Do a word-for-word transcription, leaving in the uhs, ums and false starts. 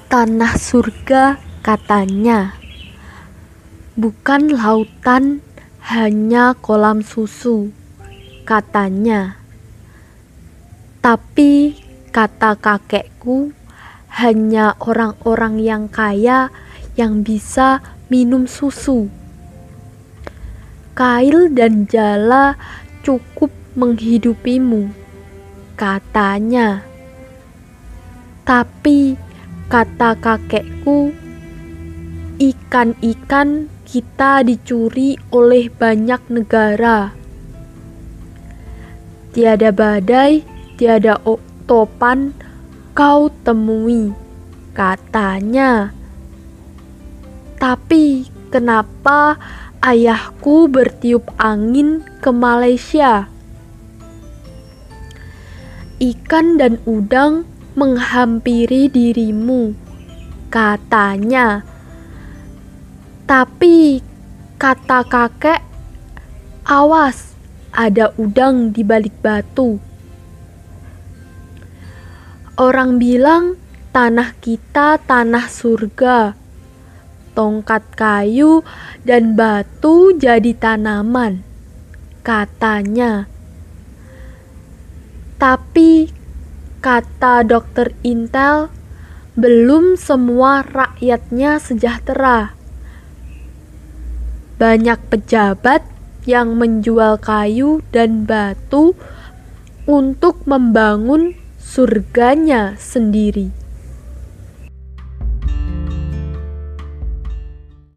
Tanah surga katanya, bukan lautan, hanya kolam susu katanya. Tapi kata kakekku, hanya orang-orang yang kaya yang bisa minum susu. Kail dan jala cukup menghidupimu katanya. Tapi kata kakekku, ikan-ikan kita dicuri oleh banyak negara. Tiada badai, tiada topan kau temui katanya. Tapi kenapa ayahku bertiup angin ke Malaysia? Ikan dan udang menghampiri dirimu katanya. Tapi kata kakek, awas, ada udang di balik batu. Orang bilang tanah kita tanah surga, tongkat kayu dan batu jadi tanaman katanya. Tapi kata dokter Intel, belum semua rakyatnya sejahtera. Banyak pejabat yang menjual kayu dan batu untuk membangun surganya sendiri.